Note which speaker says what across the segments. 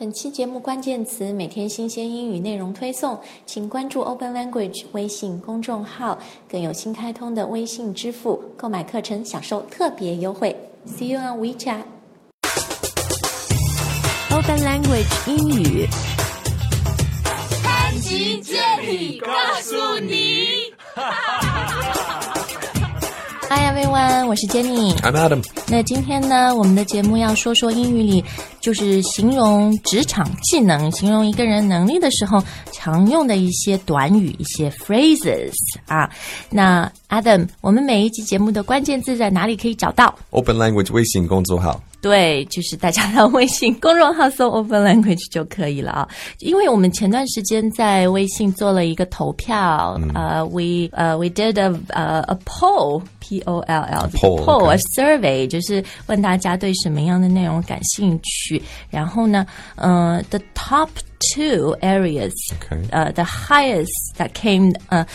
Speaker 1: 本期节目关键词每天新鲜英语内容推送，请关注 Open Language 微信公众号，更有新开通的微信支付，购买课程享受特别优惠。See you on WeChat。Open Language 英语，
Speaker 2: 潘吉接力告诉你。
Speaker 1: Hi everyone， 我是 Jenny。I'm
Speaker 3: Adam。
Speaker 1: 那今天呢，我们的节目要说说英语里就是形容职场技能、形容一个人能力的时候常用的一些短语、一些 phrases 啊。那 Adam， 我们每一集节目的关键字在哪里可以找到
Speaker 3: ？Open Language 微信公众号。
Speaker 1: 对，就是大家的微信公众号搜 Open Language 就可以了啊。因为我们前段时间在微信做了一个投票，we did a poll P-O-L-L poll a survey， 就是问大家对什么样的内容感兴趣。然后呢，the top two areas， the highest that came，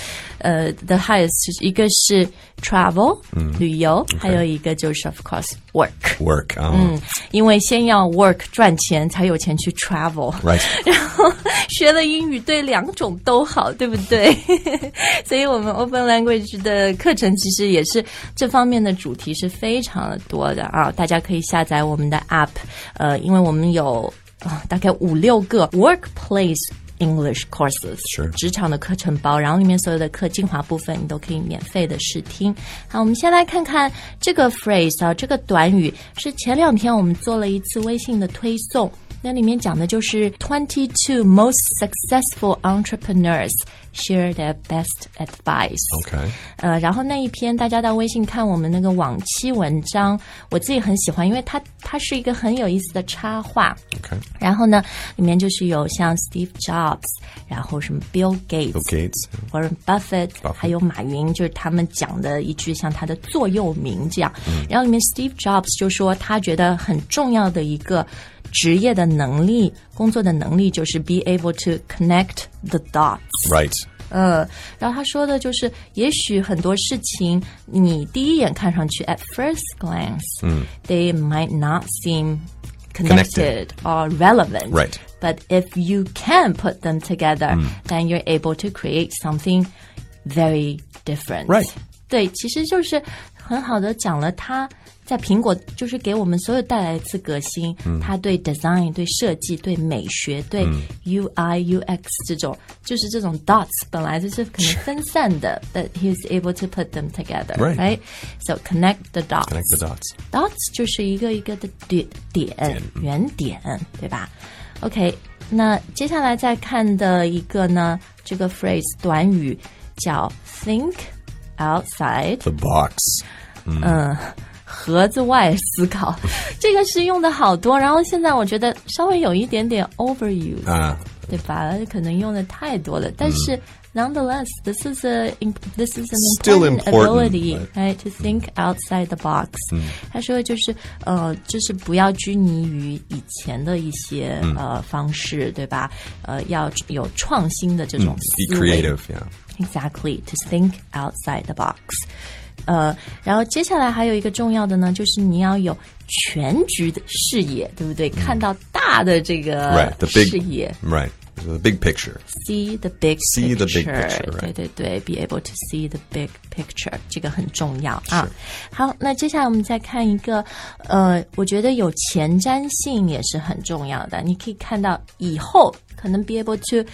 Speaker 1: the highest 一个是 travel， 旅游，还有一个就是 of course work， 因为先要 work 赚钱，才有钱去 travel，
Speaker 3: right，
Speaker 1: 然后学了英语对两种都好，对不对？所以我们 Open Language 的课程其实也是这方面的主题是非常的多的啊，大家可以下载我们的 app， 因为我们有大概5-6个 workplace English courses， 职场的课程包，然后里面所有的课精华部分你都可以免费的试听。好，我们先来看看这个 phrase 啊，这个短语是前2天我们做了一次微信的推送，那里面讲的就是22 most successful entrepreneurs share their best advice。 然后那一篇大家到微信看我们那个往期文章，我自己很喜欢，因为它是一个很有意思的插画。然后呢，里面就是有像 Steve Jobs， 然后什么 Bill Gates，Warren Buffett， 还有马云，就是他们讲的一句像他的座右铭这样。然后里面 Steve Jobs 就说他觉得很重要的一个职业的能力，工作的能力就是 be able to connect the dots。Right。然后他说的就是，也许很多事情你第一眼看上去 at first glance，they might not seem connected or relevant.
Speaker 3: Right.
Speaker 1: But if you can put them together, then you're able to create something very different.
Speaker 3: Right.
Speaker 1: 对，其实就是很好的讲了他在苹果就是给我们所有带来一次革新，他对 design 对设计对美学对 UI UX 这种就是这种 dots 本来就是可能分散的but he was able to put them together, right? So connect the dots.
Speaker 3: Connect the dots.
Speaker 1: Dots 就是一个一个的点圆点，对吧？ OK， 那接下来再看的一个呢，这个 phrase 短语叫 think outside
Speaker 3: the box。
Speaker 1: 盒子外思考，这个是用的好多，然后现在我觉得稍微有一点点 overuse，对吧？可能用的太多了，但是 nonetheless, this is an important ability, right? To think outside the box. 他说就是不要拘泥于以前的一些方式，对吧？要有创新的这种思维。
Speaker 3: Be creative, yeah.
Speaker 1: Exactly, to think outside the box. 然后接下来还有一个重要的呢，就是你要有全局的视野，对不对？看到大的这个视野。
Speaker 3: Right, the big picture.
Speaker 1: See the big picture.
Speaker 3: See the big picture, right.
Speaker 1: 对 be able to see the big picture， 这个很重要啊。好，那接下来我们再看一个，我觉得有前瞻性也是很重要的。你可以看到以后可能 be able to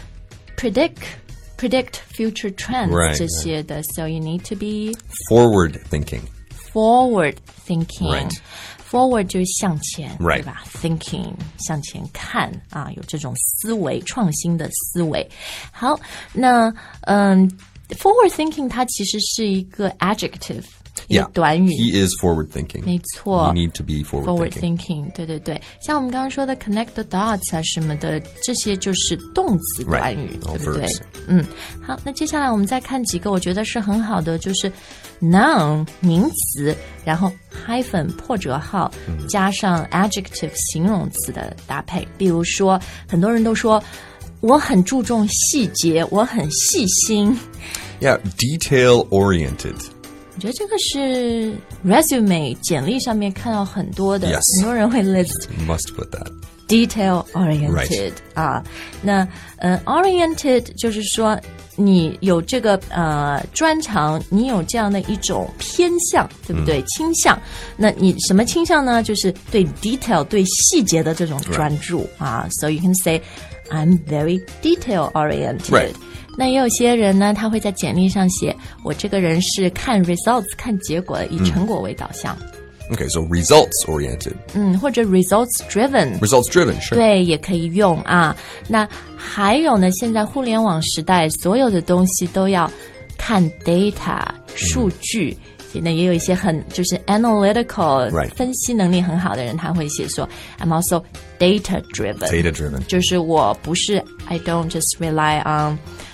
Speaker 1: predict future trends 这些的 so you need to be
Speaker 3: forward thinking.
Speaker 1: Right. Forward 就是向前，对吧？ Thinking 向前看啊，有这种思维，创新的思维。好，那forward thinking 它其实是一个 adjective。短语
Speaker 3: He is forward thinking.
Speaker 1: 没错
Speaker 3: You need to be forward
Speaker 1: thinking. 对，像我们刚刚说的 connect the dots 啊什么的，这些就是动词短语，对不对？好，那接下来我们再看几个我觉得是很好的，就是 noun 名词，然后 hyphen 破折号加上 adjective 形容词的搭配。比如说很多人都说我很注重细节，我很细心。
Speaker 3: Yeah, detail oriented.
Speaker 1: 我觉得这个是 resume 简历上面看到很多的
Speaker 3: Yes.
Speaker 1: 很多人会 list
Speaker 3: Must put that.
Speaker 1: detail oriented、
Speaker 3: Right.
Speaker 1: 啊，那oriented 就是说你有这个专长，你有这样的一种偏向，对不对？倾向。那你什么倾向呢？就是对 detail 对细节的这种专注、啊。So you can say I'm very detail oriented、
Speaker 3: Right.
Speaker 1: 那也有些人呢，他会在简历上写我这个人是看 results 看结果的，以成果为导向。
Speaker 3: Okay, so results oriented.
Speaker 1: 或者 results driven。
Speaker 3: Results driven, sure.
Speaker 1: 对，也可以用啊。那还有呢，现在互联网时代，所有的东西都要看 data 数据。那也有一些很就是 analytical、
Speaker 3: Right.
Speaker 1: 分析能力很好的人，他会写说 I'm also data driven。
Speaker 3: Data driven.
Speaker 1: 就是我不是 I don't just rely on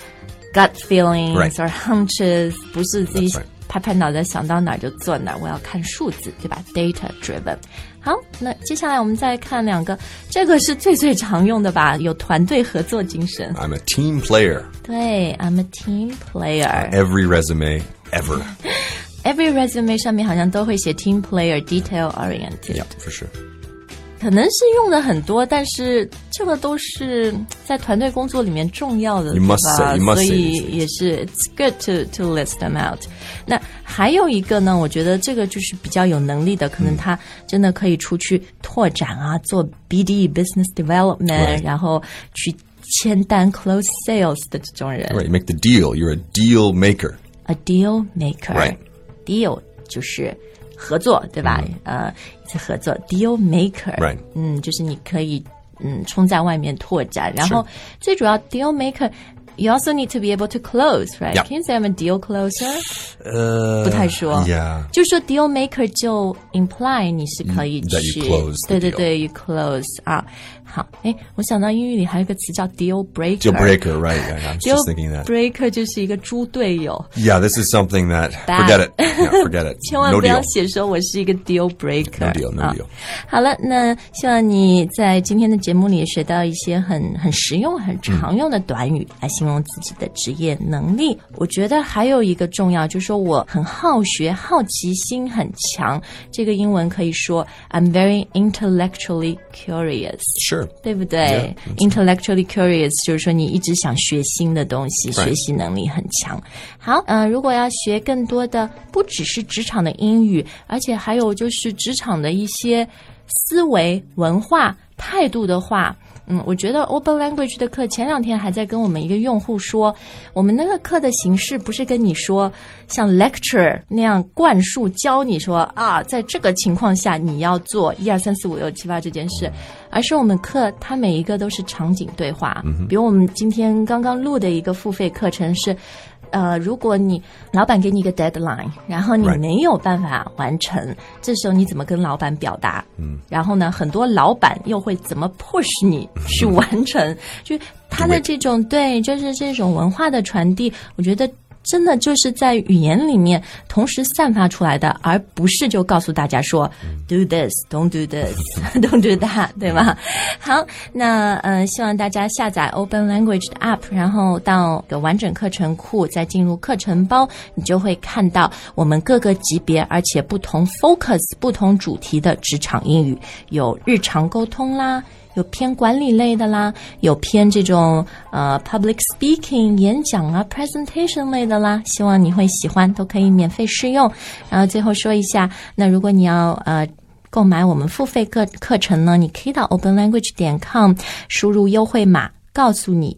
Speaker 1: gut feelings、
Speaker 3: Right.
Speaker 1: or hunches， 不是自己
Speaker 3: That's right.
Speaker 1: 拍拍脑袋想到哪儿就做哪儿，我要看数字，对吧 ？Data driven。好，那接下来我们再看两个，这个是最常用的吧？有团队合作精神。
Speaker 3: I'm a team player.
Speaker 1: 对 ，I'm a team player。
Speaker 3: Every resume ever.
Speaker 1: Every resume 上面好像都会写 team player detail oriented。
Speaker 3: Yeah, for sure.
Speaker 1: 可能是用的很多，但是这个都是在团队工作里面重要的，
Speaker 3: You must
Speaker 1: 对吧
Speaker 3: say, you must
Speaker 1: 所
Speaker 3: say
Speaker 1: 以
Speaker 3: these things.
Speaker 1: 也是 it's good to list them out。那还有一个呢，我觉得这个就是比较有能力的，可能他真的可以出去拓展啊，做 BD business development，
Speaker 3: Right.
Speaker 1: 然后去签单 close sales 的这种人。
Speaker 3: Right, you make the deal. You're a deal maker.
Speaker 1: A deal maker，
Speaker 3: Right.
Speaker 1: Deal 就是合作，对吧？一次合作 deal maker，
Speaker 3: Right.
Speaker 1: 就是你可以冲在外面拓展，然后最主要 deal maker。You also need to be able to close, right?
Speaker 3: Yeah.
Speaker 1: Can you say I'm a deal closer? 不太说
Speaker 3: Yeah.
Speaker 1: 就是说 deal maker 就 imply 你是可以
Speaker 3: That
Speaker 1: 去
Speaker 3: you close the
Speaker 1: 对
Speaker 3: deal.
Speaker 1: 对 you close 啊。好，我想到英语里还有一个词叫 deal breaker。
Speaker 3: Deal breaker, right. Yeah, I was
Speaker 1: Deal
Speaker 3: just thinking that.
Speaker 1: breaker 就是一个猪队友。
Speaker 3: Yeah, this is something that...
Speaker 1: Bad.
Speaker 3: Forget it. Yeah, forget it.
Speaker 1: 千万
Speaker 3: No
Speaker 1: 不要
Speaker 3: deal.
Speaker 1: 写说我是一个 deal breaker。
Speaker 3: No deal, no
Speaker 1: 啊
Speaker 3: deal.
Speaker 1: 好了，那希望你在今天的节目里也学到一些很实用、很常用的短语，来形容自己的职业能力。我觉得还有一个重要，就是说我很好学，好奇心很强。这个英文可以说 I'm very intellectually curious，
Speaker 3: Sure.
Speaker 1: 对不对？ Intellectually curious 就是说你一直想学新的东西，
Speaker 3: Right.
Speaker 1: 学习能力很强。好，如果要学更多的，不只是职场的英语，而且还有就是职场的一些思维、文化、态度的话。我觉得 Open Language 的课前2天还在跟我们一个用户说，我们那个课的形式不是跟你说像 lecture 那样灌输教你说啊，在这个情况下你要做1、2、3、4、5、6、7、8这件事，而是我们课它每一个都是场景对话。比如我们今天刚刚录的一个付费课程是如果你老板给你一个 deadline， 然后你
Speaker 3: Right.
Speaker 1: 没有办法完成，这时候你怎么跟老板表达？然后呢，很多老板又会怎么 push 你去完成？就他的这种对，就是这种文化的传递，我觉得真的就是在语言里面同时散发出来的，而不是就告诉大家说 do this, don't do this, don't do that， 对吗？好，那希望大家下载 Open Language 的 App， 然后到个完整课程库，再进入课程包，你就会看到我们各个级别而且不同 focus 不同主题的职场英语，有日常沟通啦，有偏管理类的啦，有偏这种public speaking 演讲啊 presentation 类的啦，希望你会喜欢，都可以免费试用。然后最后说一下，那如果你要购买我们付费课程呢，你可以到 openlanguage.com 输入优惠码，告诉你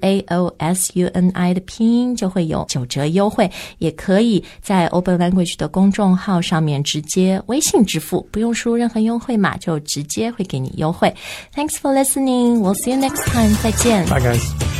Speaker 1: GAOSUNI 的拼音，就会有9折优惠。也可以在 Open Language 的公众号上面直接微信支付，不用输入任何优惠码，就直接会给你优惠。Thanks for listening. We'll see you next time. 再见。
Speaker 3: Bye, guys.